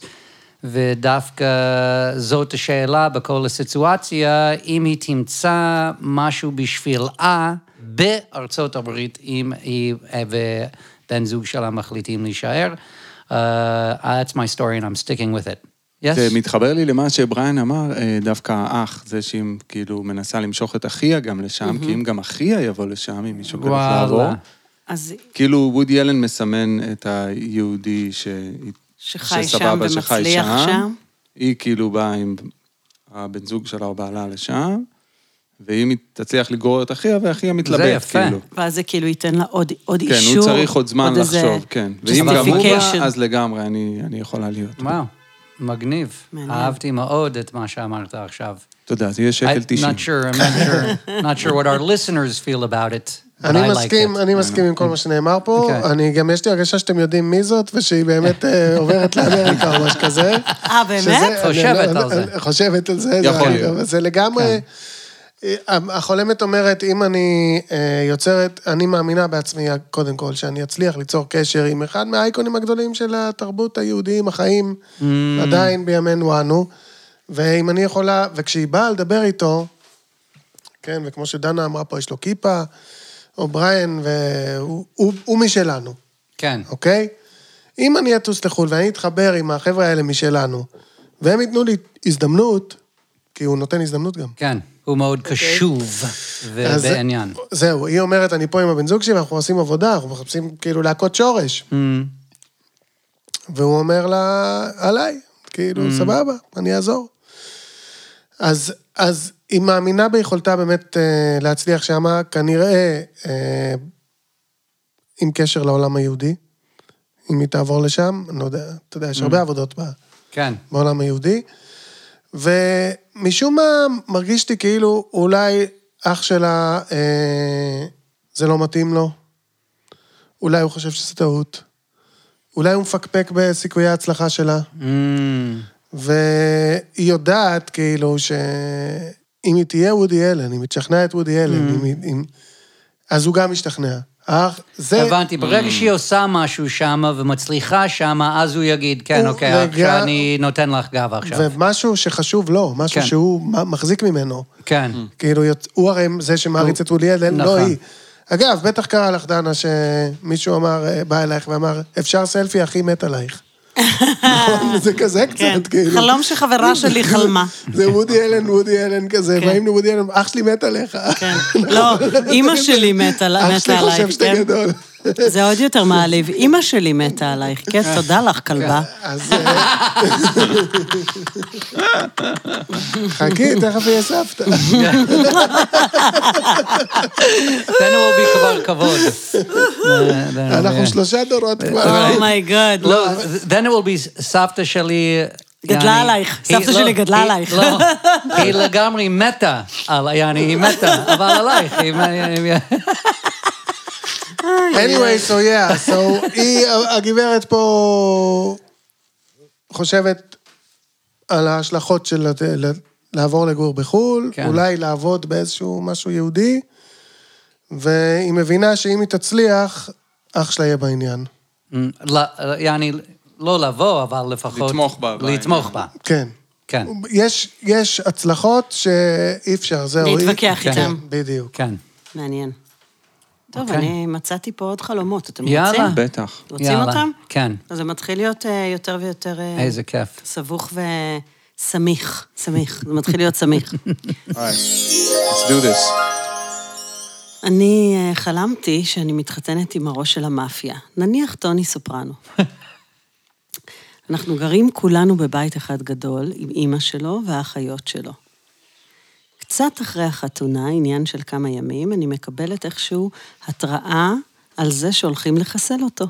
ודווקא זאת השאלה בכל הסיטואציה, אם היא תמצא משהו בשבילה בארצות הברית, אם היא ובן זוג שלה מחליטים להישאר, that's my story and I'm sticking with it. זה מתחבר לי למה שבריין אמר, דווקא האח, זה שהיא כאילו מנסה למשוך את אחיה גם לשם, כי אם גם אחיה יבוא לשם, אם מישהו כזה לעבור, כאילו וודי אלן מסמן את היהודי שחי שם ומצליח שם. היא כאילו באה עם הבן זוג שלה או בעלה לשם, ואם היא תצליח לגרור את אחיה, ואחיה מתלבט, כאילו. ואז זה כאילו ייתן לה עוד אישור. כן, הוא צריך עוד זמן לחשוב, כן. ואם גם הוא בא, אז לגמרי אני יכולה להיות. וואו. מגניב. אהבתי מאוד את מה שאמרת עכשיו. תודה, זה יהיה שקל 90. Not sure what our listeners feel about it. אני מסכים עם כל מה שנאמר פה. אני גם יש לי הרגשה שאתם יודעים מי זאת, ושהיא באמת עוברת לאמריקה או משהו כזה. באמת? חושבת על זה. חושבת על זה. יכול להיות. זה לגמרי... החולמת אומרת, אם אני יוצרת, אני מאמינה בעצמי, קודם כל, שאני אצליח ליצור קשר עם אחד מהאייקונים הגדולים של התרבות היהודיים, החיים, עדיין בימינו אנו, ואם אני יכולה, וכשהיא באה לדבר איתו, כן, וכמו שדנה אמרה פה, יש לו כיפה, או בריין, והוא משלנו. כן. אוקיי? אם אני אטוס לחו"ל, ואני אתחבר עם החבר'ה האלה משלנו, והם ייתנו לי הזדמנות, כי הוא נותן הזדמנות גם. כן. הוא מאוד קשוב ובעניין. זהו, היא אומרת, אני פה עם הבן זוג שלי, ואנחנו עושים עבודה, אנחנו מחפשים כאילו להקות שורש. והוא אומר לה, עליי, כאילו, סבבה, אני אעזור. אז היא מאמינה ביכולתה באמת להצליח שמה, כנראה עם קשר לעולם היהודי, אם היא תעבור לשם, אני לא יודע, אתה יודע, יש הרבה עבודות בעולם היהודי, ומשום מה מרגיש לי כאילו אולי אח שלה, זה לא מתאים לו, אולי הוא חושב שזה טעות, אולי הוא מפקפק בסיכויי ההצלחה שלה, והיא יודעת כאילו שאם היא תהיה וודי אלן, אם היא תשכנע את וודי אלן, אז הוא גם משתכנע. הבנתי, ברגע שהיא עושה משהו שם ומצליחה שם, אז הוא יגיד, כן, אוקיי, עכשיו אני נותן לך גב עכשיו. ומשהו שחשוב לו, משהו שהוא מחזיק ממנו. כן. כאילו, הוא הרי זה שמעריץ את וודי אלן, לא היא. אגב, בטח קרה לך, דנה, שמישהו אמר, בא אלייך ואמר, אפשר סלפי, הכי מת עלייך. נכון, זה כזה קצת, כאילו. חלום שחברה שלי חלמה. זה וודי אלן כזה, באים לוודי אלן, אח שלי מת עליך. לא, אמא שלי מתה עלייך. אח שלי חושב שאתה גדול. זה עוד יותר מעליב. אמא שלי מתה עלייך, כן, תודה לך, כלבה. אז... חכי, תכף יהיה סבתא. then will be כבר כבוד. אנחנו 3 דורות כבר. אומייגאד. לא, then it will be סבתא שלי... גדלה עלייך, סבתא שלי גדלה עלייך. לא, היא לגמרי מתה, היא מתה, אבל עלייך. anyway, so yeah, הגברת פה חושבת על ההשלכות של לעבור לגור בחול, אולי לעבוד באיזשהו משהו יהודי, והיא מבינה שאם היא תצליח, אח שלה יהיה בעניין. יעני, לא לבוא, אבל לפחות... לתמוך בה. כן. כן. יש הצלחות שאי אפשר, זהו. להתווכח איתם. בדיוק. כן. מעניין. טוב, אני מצאתי פה עוד חלומות, אתם יאללה. רוצים? בטח. רוצים אותם? כן. אז זה מתחיל להיות יותר ויותר... איזה כיף. סבוך וסמיך, סמיך, זה מתחיל להיות סמיך. Alright, let's do this. אני חלמתי שאני מתחתנת עם הראש של המאפיה, נניח טוני סופרנו. אנחנו גרים כולנו בבית אחד גדול, עם אמא שלו והאחיות שלו. קצת אחרי החתונה, עניין של כמה ימים, אני מקבלת איכשהו התראה על זה שהולכים לחסל אותו.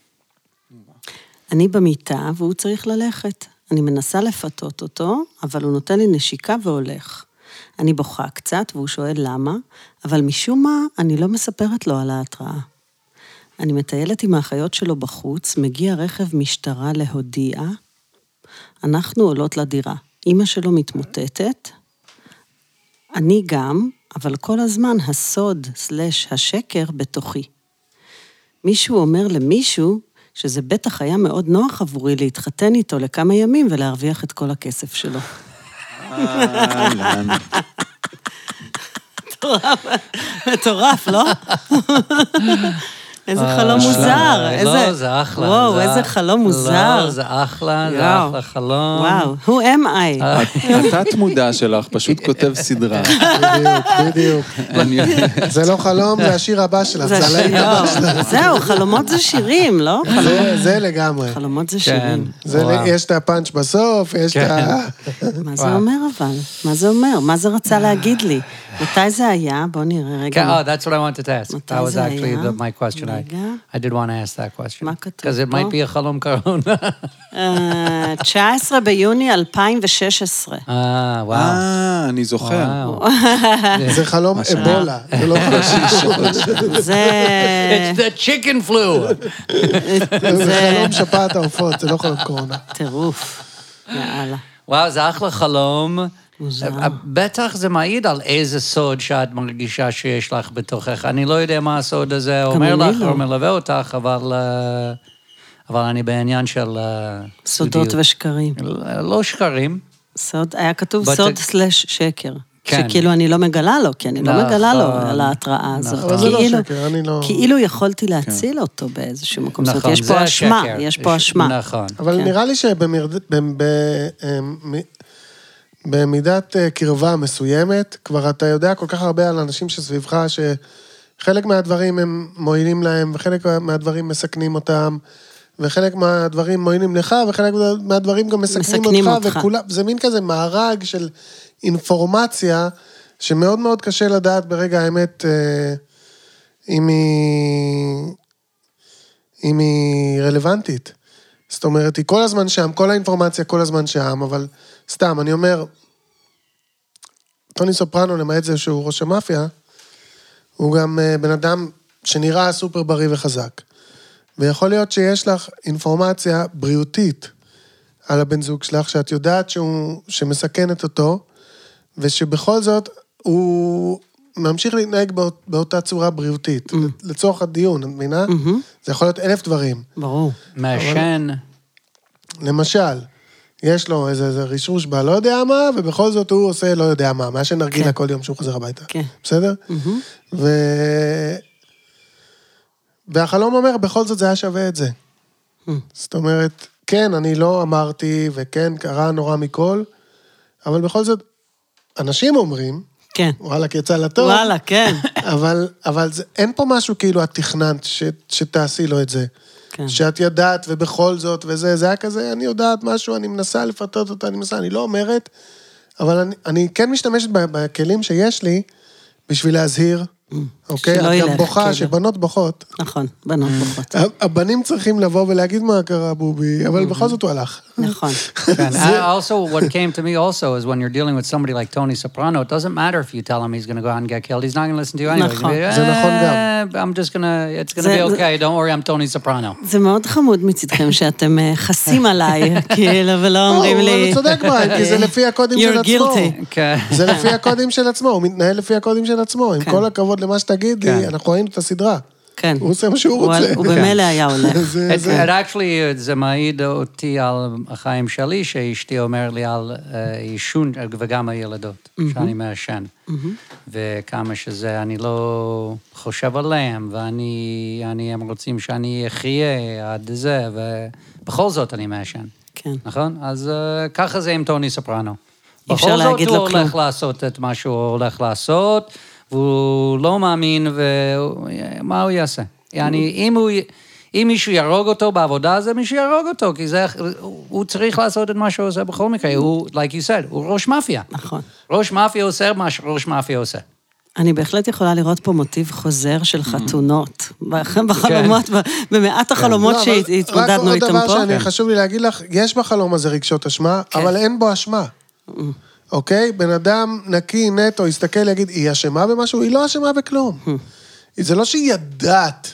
אני במיטה והוא צריך ללכת. אני מנסה לפתות אותו, אבל הוא נותן לי נשיקה והולך. אני בוכה קצת והוא שואל למה, אבל משום מה אני לא מספרת לו על ההתראה. אני מטיילת עם האחיות שלו בחוץ, מגיע רכב משטרה להודיע, אנחנו עולות לדירה. אמא שלו מתמוטטת, אני גם, אבל כל הזמן הסוד / השקר בתוכי. מישהו אומר למישהו שזה בטח היה מאוד נוח עבורי להתחתן איתו לכמה ימים ולהרוויח את כל הכסף שלו. מטורף, לא? איזה חלום מוזר. לא, זה אחלה. וואו, איזה חלום מוזר. לא, זה אחלה, זה אחלה חלום. וואו, who am I? התת מודע שלך פשוט כותב סדרה. בדיוק. זה לא חלום, זה השיר הבא שלך, זה הלהיט הבא שלך. זהו, חלומות זה שירים, לא? זה לגמרי. חלומות זה שירים. יש את הפאנץ' בסוף, יש את ה... מה זה אומר אבל? מה זה אומר? מה זה רצה להגיד לי? מתי זה היה? בוא נראה רגע. Oh, that's what I wanted to ask. That was actually my question. I did want to ask that question. מה כתוב Because it might be a חלום קורונה. 19 ביוני 2016. וואו. אני זוכר. זה חלום אבולה. זה לא זה... It's the chicken flu. זה חלום שפעת העופות, זה לא חלום קורונה. טירוף. יאללה. וואו, זה אחלה חלום. מוזר. בטח זה מעיד על איזה סוד שאת מרגישה שיש לך בתוכך. אני לא יודע מה הסוד הזה אומר לך או מלווה אותך, אבל אני בעניין של... סודות ושקרים. לא שקרים. סוד, היה כתוב סוד / שקר. כן. שכאילו אני לא מגלה לו, כי אני לא מגלה לו על ההתראה הזאת. אבל זה לא שקר, אני לא... כאילו יכולתי להציל אותו באיזשהו מקום. זאת אומרת, יש פה אשמה, יש פה אשמה. נכון. אבל נראה לי במידת קרבה מסוימת, כבר אתה יודע כל כך הרבה על אנשים שסביבך, שחלק מהדברים הם מועילים להם, וחלק מהדברים מסכנים אותם, וחלק מהדברים מועילים לך, וחלק מהדברים גם מסכנים אותך, וכולם, זה מין כזה מארג של אינפורמציה, שמאוד מאוד קשה לדעת ברגע האמת, אם היא רלוונטית. זאת אומרת, היא כל הזמן שם, כל האינפורמציה כל הזמן שם, אבל סתם, אני אומר, טוני סופרנו, למעט זה שהוא ראש המאפיה, הוא גם בן אדם שנראה סופר בריא וחזק. ויכול להיות שיש לך אינפורמציה בריאותית על הבן זוג שלך, שאת יודעת שמסכנת אותו, ושבכל זאת הוא ממשיך להתנהג באותה צורה בריאותית, לצורך הדיון, את מבינה? זה יכול להיות 1000 דברים. ברור. מעשן. למשל, יש לו איזה רישוש בה לא יודע מה, ובכל זאת הוא עושה לא יודע מה, מה שנרגילה כל יום שהוא חוזר הביתה. בסדר? והחלום אומר, בכל זאת זה היה שווה את זה. זאת אומרת, כן, אני לא אמרתי, וכן, קרה נורא מכל, אבל בכל זאת, אנשים אומרים, כן. וואלה, יצא לטוב. וואלה, כן. אבל אין פה משהו כאילו את תכננת שתעשי לו את זה. כן. שאת יודעת, ובכל זאת, וזה, זה היה כזה, אני יודעת משהו, אני מנסה לפתות אותה, אני לא אומרת, אבל אני כן משתמשת בכלים שיש לי, בשביל להזהיר, אוקיי? את גם בוכה, שבנות בוכות. נכון, בנות בוכות. הבנים צריכים לבוא ולהגיד מה קרה, בובי, אבל בכל זאת הוא הלך. נכון. Also, what came to me also is when you're dealing with somebody like Tony Soprano, it doesn't matter if you tell him he's going to go out and get killed, he's not going to listen to you anyway. נכון. זה נכון גם. I'm just it's going to be okay, don't worry, I'm Tony Soprano. זה מאוד חמוד מצדכם שאתם חסים עליי, כאילו, ולא אומרים לי... הוא צודק בהם, כי זה לפי הקודים של עצמו. זה לפי הקודים של עצמו, הוא מתנהל לפי הקודים של עצמו. עם כל הכבוד למה שתגידי, אנחנו ראינו את הסדרה. כן. הוא עושה מה שהוא רוצה. הוא במילא היה הולך. זה מעיד אותי על החיים שלי, שאשתי אומר לי על עישון, וגם הילדות, שאני מעשן. וכמה שזה, אני לא חושב עליהם, הם רוצים שאני אחיה עד זה, ובכל זאת אני מעשן. כן. נכון? אז ככה זה עם טוני סופרנו. אפשר להגיד לו כלום. בכל זאת הוא הולך לעשות את מה שהוא הולך לעשות, והוא לא מאמין, ומה הוא יעשה? yani, אם מישהו ירוג אותו בעבודה, זה מישהו ירוג אותו, כי הוא צריך לעשות את מה שהוא עושה בכל מקרה. הוא, like you said, הוא ראש מאפיה. נכון. ראש מאפיה עושה מה שראש מאפיה עושה. אני בהחלט יכולה לראות פה מוטיב חוזר של חתונות, בחלומות, במעט החלומות שהתמודדנו איתם פה. רק עוד דבר שאני חשוב לי להגיד לך, יש בחלום הזה רגשות אשמה, אבל אין בו אשמה. אוקיי? בן אדם נקי, נטו, יסתכל, יגיד, היא אשמה במשהו? היא לא אשמה בכלום. זה לא שהיא ידעת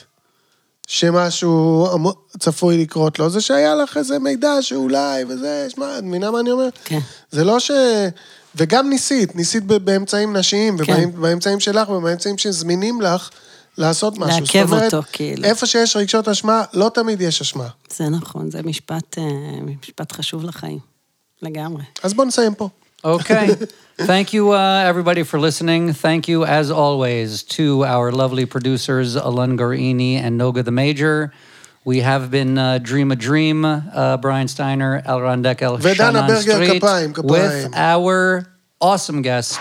שמשהו צפוי לקרות לו, זה שהיה לך איזה מידע שאולי, וזה, שמה, מבינה מה אני אומר? כן. זה לא ש... וגם ניסית באמצעים נשיים, ובאמצעים שלך, ובאמצעים שזמינים לך, לעשות משהו. לעכב אותו, כאילו. איפה שיש רגשות אשמה, לא תמיד יש אשמה. זה נכון, זה משפט חשוב לחיים. לגמרי. אז בוא נסיים פה. Okay. Thank you, everybody, for listening. Thank you, as always, to our lovely producers, Alun Garini and Noga the Major. We have been Dream a Dream, Brian Steiner, Elron Deckel, Shannon Street, with our awesome guest,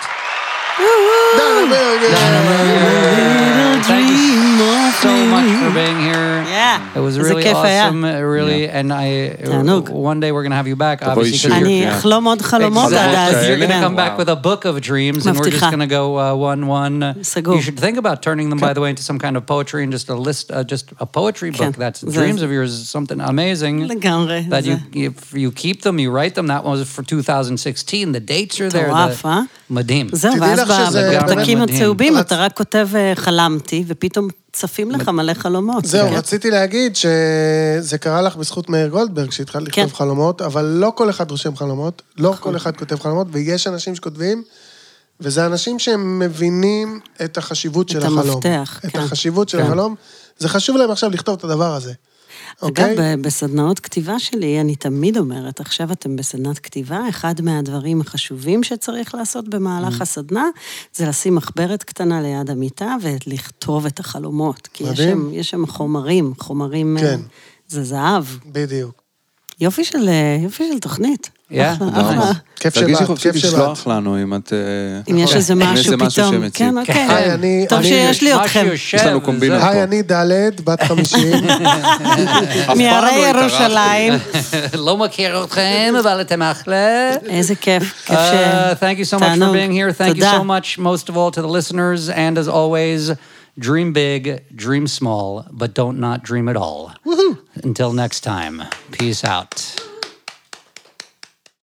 Dana Berger. Thank you so much for being here. Yeah. It was really awesome, really, and one day we're going to have you back, obviously. אני אחלום עוד חלומות עד אז. You're going to come back with a book of dreams, and we're just going to go one. סגור. You should think about turning them, by the way, into some kind of poetry and just a list, just a poetry book. That's dreams of yours is something amazing. לגמרי. That if you keep them, you write them. That was for 2016. The dates are there. מטורף, מדהים. זהו, ואז בפתקים הצהובים אתה רק כותב חלמתי, ופתאום צפים לך מלא חלומות. זהו, רציתי להגיד שזה קרה לך בזכות מאיר גולדברג, שהתחלת לכתוב חלומות, אבל לא כל אחד רושם חלומות, לא כל אחד כותב חלומות, ויש אנשים שכותבים, וזה אנשים שהם מבינים את החשיבות של החלום. את המפתח, את החשיבות של החלום. זה חשוב להם עכשיו לכתוב את הדבר הזה. אגב, בסדנאות כתיבה שלי, אני תמיד אומרת, עכשיו אתם בסדנת כתיבה, אחד מהדברים החשובים שצריך לעשות במהלך הסדנה, זה לשים מחברת קטנה ליד המיטה, ולכתוב את החלומות. כי יש שם חומרים, זה זהב. בדיוק. יופי של תוכנית. Yeah, אחלה. כיף תרגישי שבאת, חופשי כיף שבאת. לשלוח לנו אם את... אם יש איזה משהו פתאום. שמציק. כן, אוקיי. היי, טוב שיש לי אתכם. יש לנו קומבינות. היי, אני ד', בת 50. מהרי ירושלים. לא מכיר אתכם, אבל אתם אחלה. איזה כיף. כיף Thank you so much for being here. Thank you so much, most of all, to the listeners. And as always, dream big, dream small, but don't not dream at all. Until next time, peace out.